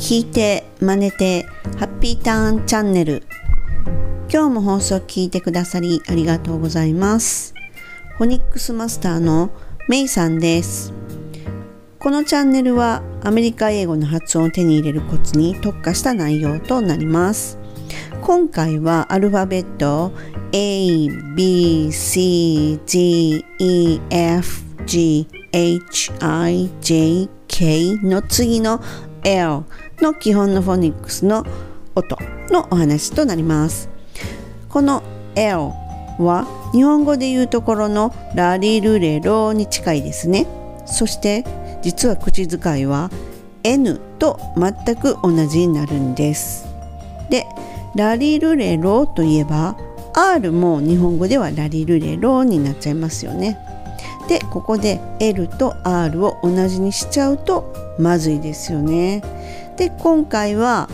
聞いて真似てハッピーターンチャンネル。今日も放送聞いてくださりありがとうございます。フォニックスマスターのメイさんです。このチャンネルはアメリカ英語の発音を手に入れるコツに特化した内容となります。今回はアルファベット A, B, C, D, E, F, G, H, I, J, K の次の L の基本のフォニックスの音のお話となります。この L は日本語で言うところのラリルレロに近いですね。そして実は口遣いは N と全く同じになるんです。で、ラリルレロといえば R も日本語ではラリルレロになっちゃいますよね。で、ここで L と R を同じにしちゃうとまずいですよね。で、今回は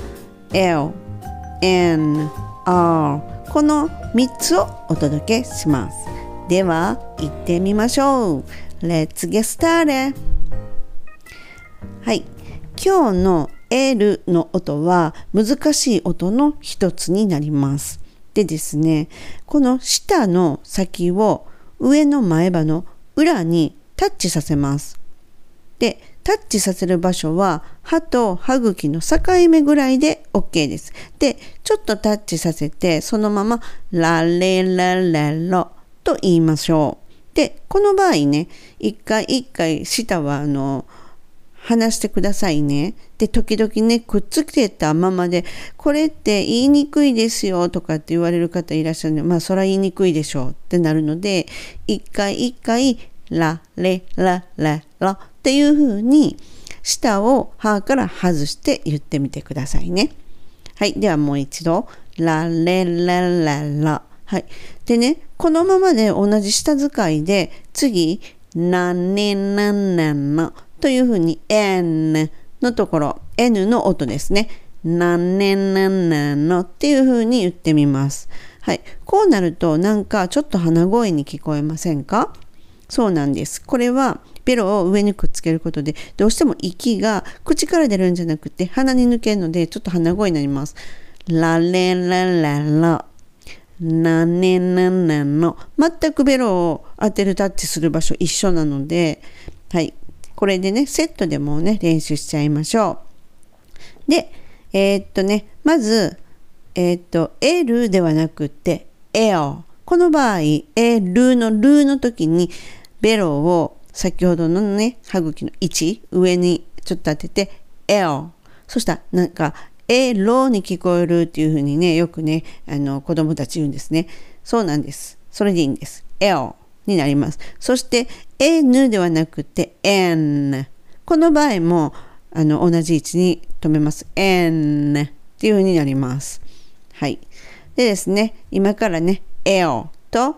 L、N、R この3つをお届けします。では行ってみましょう。Let's get started。はい、今日の L の音は難しい音の一つになります。でですね、この下の先を上の前歯の裏にタッチさせます。で、タッチさせる場所は歯と歯茎の境目ぐらいで OK です。で、ちょっとタッチさせてそのままラレララロと言いましょう。で、この場合ね、一回舌は離してくださいね。で、時々ね、くっつけたままで、これって言いにくいですよとかって言われる方いらっしゃるので、まあそれは言いにくいでしょうってなるので、一回ラレラララっていう風に舌を歯から外して言ってみてくださいね。はい、ではもう一度ラレラララ。はい。でね、このままで同じ舌使いで次ナネナナナというふうに N のところ N の音ですね。ナネナナナっていうふうに言ってみます。はい。こうなるとなんかちょっと鼻声に聞こえませんか？そうなんです。これはベロを上にくっつけることでどうしても息が口から出るんじゃなくて鼻に抜けるのでちょっと鼻声になります。ラレラララナネナナナ。全くベロを当てるタッチする場所一緒なので、はい。これでね、セットでもね、練習しちゃいましょう。で、まず、L ではなくて L。この場合、L の時にベロを先ほどのね、歯茎の位置、上にちょっと当てて L。そしたらなんか、ロに聞こえるっていう風にね、よくね、子供たち言うんですね。そうなんです。それでいいんです。L になります。そして N ではなくて N。この場合も同じ位置に止めます。N っていう風になります。はい。でですね、今からね、L と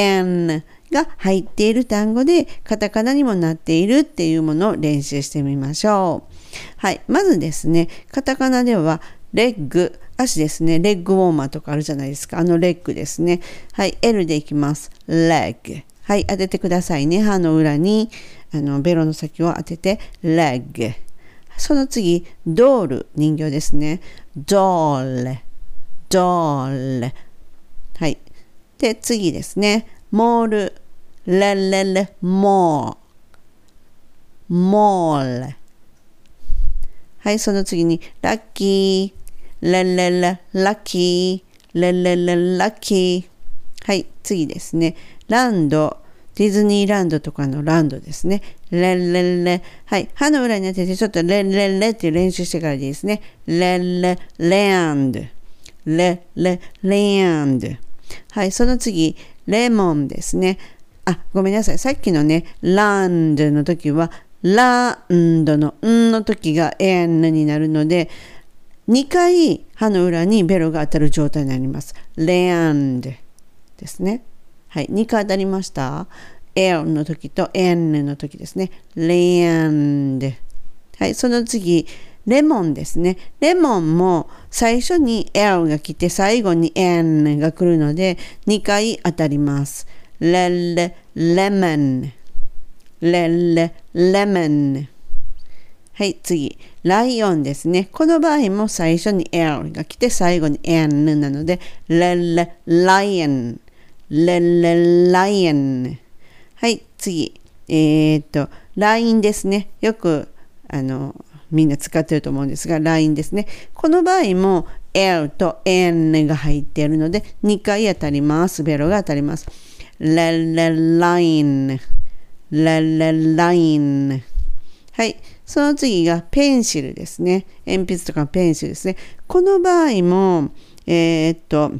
N が入っている単語でカタカナにもなっているっていうものを練習してみましょう。はい。まずですね、カタカナではレッグ、足ですね。レッグウォーマーとかあるじゃないですか。レッグですね。はい。L でいきます。レッグ。はい。当ててくださいね。歯の裏にベロの先を当ててレッグ。その次、ドール、人形ですね。ドール。ドール。はい。で、次ですね。モール。レレレ、モー。モール。はい、その次に、ラッキー。レレレ、ラッキー。レレレ、ラッキー。はい、次ですね。ランド。ディズニーランドとかのランドですね。レレレ。はい、歯の裏に当ててちょっとレレレって練習してからでいいですね。レレ、ランド。レレ、ランド。はい、その次、レモンですね。あ、ごめんなさい。さっきのね、ランドの時は、ランドのんの時が N になるので、2回歯の裏にベロが当たる状態になります。レアンドですね。はい、2回当たりました。L の時と N の時ですね。レアンド。はい、その次、レモンですね。レモンも最初に L が来て最後に N が来るので2回当たります。レレ、レモン。レレ、レモン。はい、次。 ライオンですね。この場合も最初に L が来て最後に N なので、ライオン、ライオン。はい、次。LINE ですね。よく、みんな使ってると思うんですが、LINE ですね。この場合も L と N が入っているので、2回当たります。ベロが当たります。ライン、ライン。はい。その次がペンシルですね。鉛筆とかペンシルですね。この場合も、ペ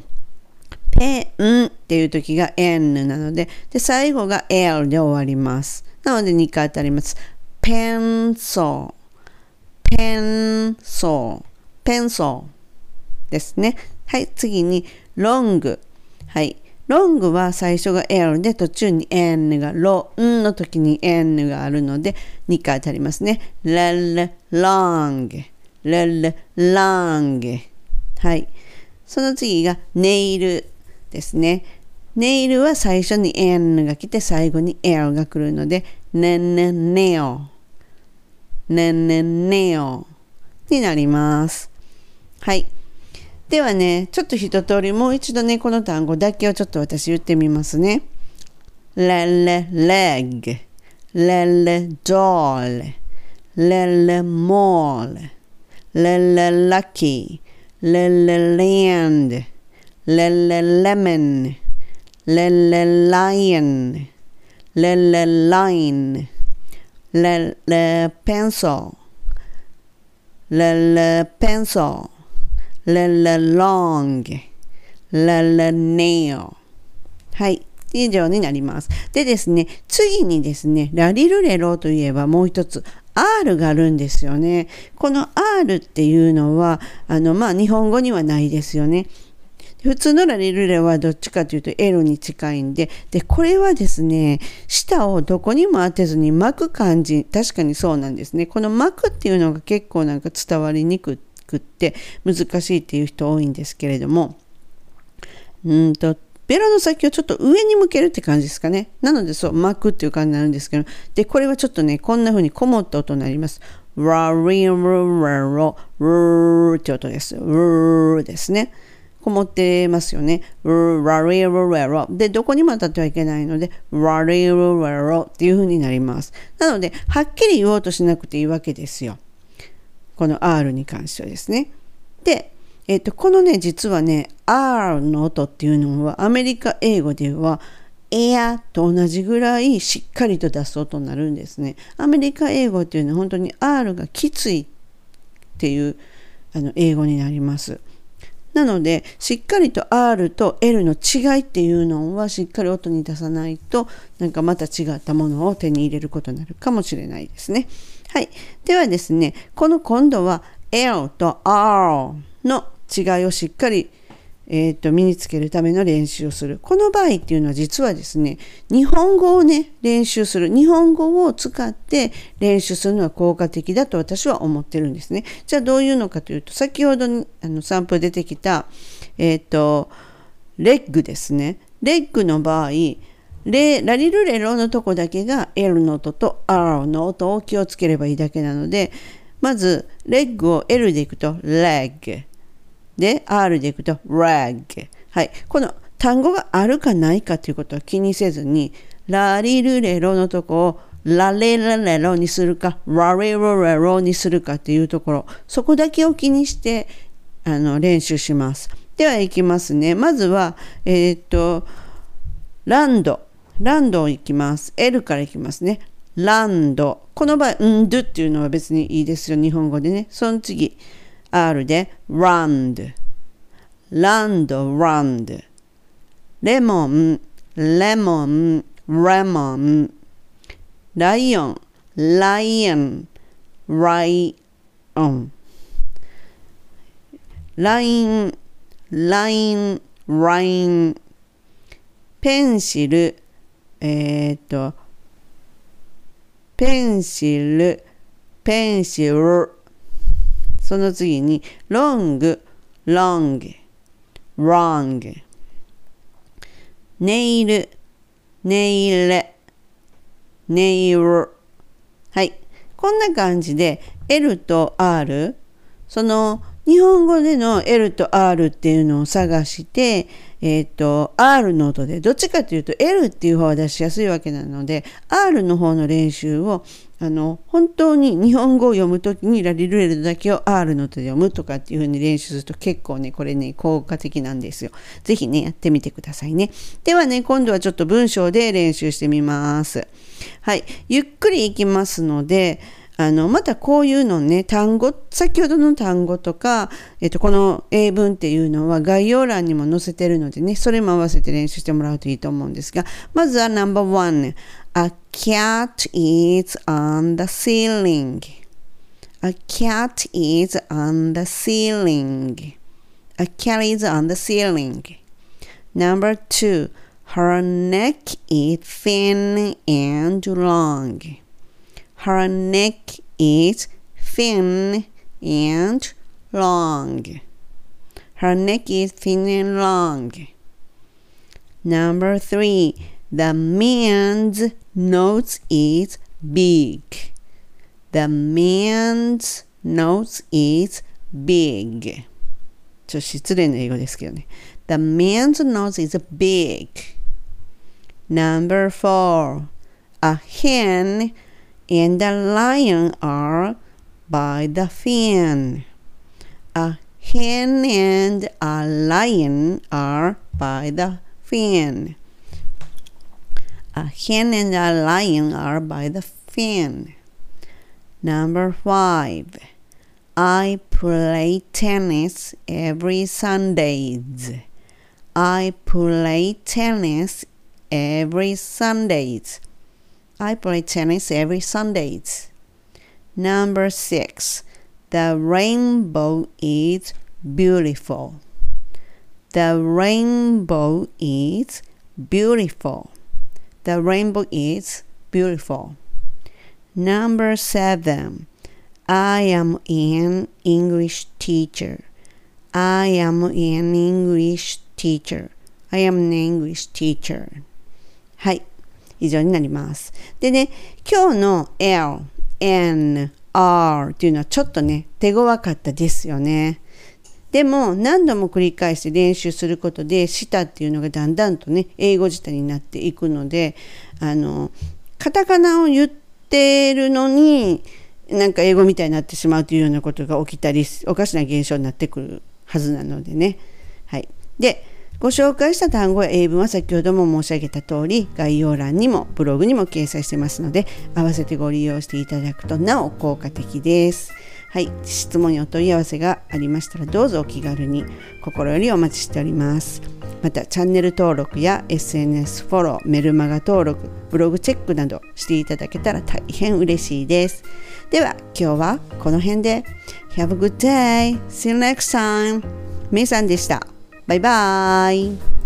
ンっていう時が N なので、最後が L で終わります。なので2回当たります。ペンソー、ペンソー、ペンソーですね。はい。次にロング。はい。ロングは最初が L で途中に N がロンの時に N があるので2回当たりますね。ロング、ロング。はい。その次がネイルですね。ネイルは最初に N が来て最後に L が来るのでネオになります。はい。ではね、ちょっと一通りもう一度ね、この単語だけをちょっと私言ってみますね。レッグ、ドール、モール、ラッキー、ランド、レモン、ライオン、ライン、ペンソー、ペンソー、long, nail。はい。以上になります。でですね、次にですね、ラリルレロといえばもう一つ、R があるんですよね。この R っていうのは、日本語にはないですよね。普通のラリルレはどっちかというと L に近いんで、これはですね、舌をどこにも当てずに巻く感じ、確かにそうなんですね。この巻くっていうのが結構なんか伝わりにくって難しいっていう人多いんですけれども、ベロの先をちょっと上に向けるって感じですかね。なのでそう巻くっていう感じになるんですけど、でこれはちょっとねこんな風にこもった音になります。ラリルレロルって音です。ルですね。こもってますよね。ラリルレロでどこにも当たってはいけないのでラリルレロっていう風になります。なのではっきり言おうとしなくていいわけですよ。この R に関してはですね。で、このね、実はね、R の音っていうのはアメリカ英語ではエアと同じぐらいしっかりと出す音になるんですね。アメリカ英語っていうのは本当に R がきついっていう英語になります。なので、しっかりと R と L の違いっていうのはしっかり音に出さないと、なんかまた違ったものを手に入れることになるかもしれないですね。はい。ではですね、今度は L と R の違いをしっかり、身につけるための練習をする。この場合っていうのは実はですね、日本語をね、練習する。日本語を使って練習するのは効果的だと私は思ってるんですね。じゃあどういうのかというと、先ほどにサンプル出てきた、レッグですね。レッグの場合、ラリルレロのとこだけが L の音と R の音を気をつければいいだけなので、まずレッグを L でいくと leg で R でいくと rag。 はい、この単語があるかないかということは気にせずに、ラリルレロのとこをラレラレロにするかラレロレロにするかっていうところ、そこだけを気にして練習します。ではいきますね。まずはランドをいきます。 L からいきますね。ランド、この場合ドっていうのは別にいいですよ、日本語でね。その次 R でランド、レモン、レモン、ライオン、ライオン、ライン、ペンシル、その次にロング、ネイル、はい。 こんな感じで L と R、その日本語での L と R っていうのを探して、R の音で、どっちかというと L っていう方は出しやすいわけなので、R の方の練習を本当に日本語を読むときにラリルレロだけを R の音で読むとかっていう風に練習すると結構ね、これね、効果的なんですよ。ぜひね、やってみてくださいね。ではね、今度はちょっと文章で練習してみます。はい。ゆっくりいきますので、またこういうのね、先ほどの単語とか、この英文っていうのは概要欄にも載せてるのでね、それも合わせて練習してもらうといいと思うんですが、まずは No.1、A cat is on the ceiling. A cat is on the ceiling. A cat is on the ceiling. No.2、Her neck is thin and long.Her neck is thin and long. Her neck is thin and long. No.3. The man's nose is big. The man's nose is big. ちょっと失礼な英語ですけどね。The man's nose is big. No.4. A hen and a lion are by the fan. A hen and a lion are by the fan. A hen and a lion are by the fan. No.5. I play tennis every Sundays. I play tennis every Sundays.I play tennis every Sundays. No.6. The rainbow is beautiful. The rainbow is beautiful. The rainbow is beautiful. No.7. I am an English teacher. I am an English teacher. I am an English teacher. はい。以上になります。でね、今日の L、N、R っていうのはちょっとね、手強かったですよね。でも何度も繰り返して練習することで、舌っていうのがだんだんとね、英語舌になっていくので、カタカナを言ってるのに、なんか英語みたいになってしまうというようなことが起きたり、おかしな現象になってくるはずなのでね。はい。で、ご紹介した単語や英文は先ほども申し上げた通り、概要欄にもブログにも掲載してますので、合わせてご利用していただくとなお効果的です。はい、質問やお問い合わせがありましたらどうぞお気軽に、心よりお待ちしております。またチャンネル登録や SNS フォロー、メルマガ登録、ブログチェックなどしていただけたら大変嬉しいです。では今日はこの辺で Have a good day! See you next time! めいさんでした。バイバイ。